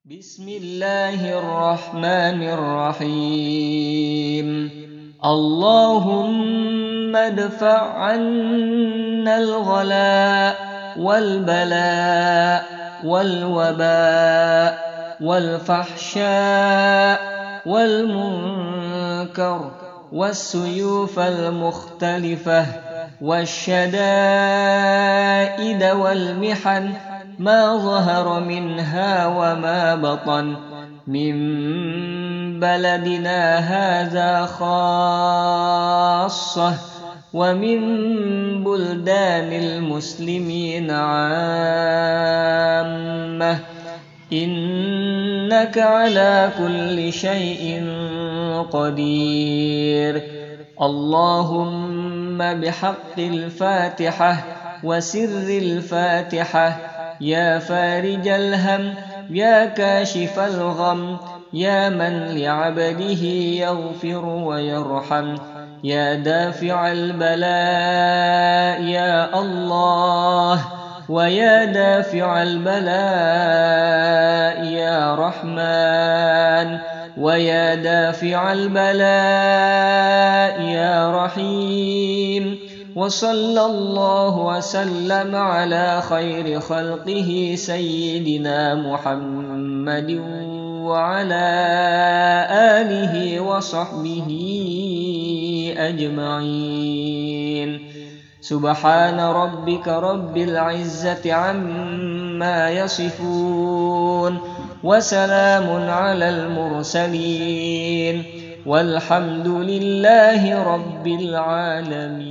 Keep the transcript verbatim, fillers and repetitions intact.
بسم الله الرحمن الرحيم. اللهم ادفع عنا الغلاء والبلاء والوباء والفحشاء والمنكر والسيوف المختلفة والشدائد والمحن ما ظهر منها وما بطن من بلدنا هذا خاصة ومن بلدان المسلمين عامة، إنك على كل شيء قدير. اللهم بحق الفاتحة وسر الفاتحة، يا فارج الهم، يا كاشف الغم، يا من لعبده يغفر ويرحم، يا دافع البلاء يا الله، ويا دافع البلاء يا رحمن، ويا دافع البلاء يا رحيم. وصلى الله وسلم على خير خلقه سيدنا محمد وعلى آله وصحبه أجمعين. سبحان ربك رب العزة عما يصفون، وسلام على المرسلين، والحمد لله رب العالمين.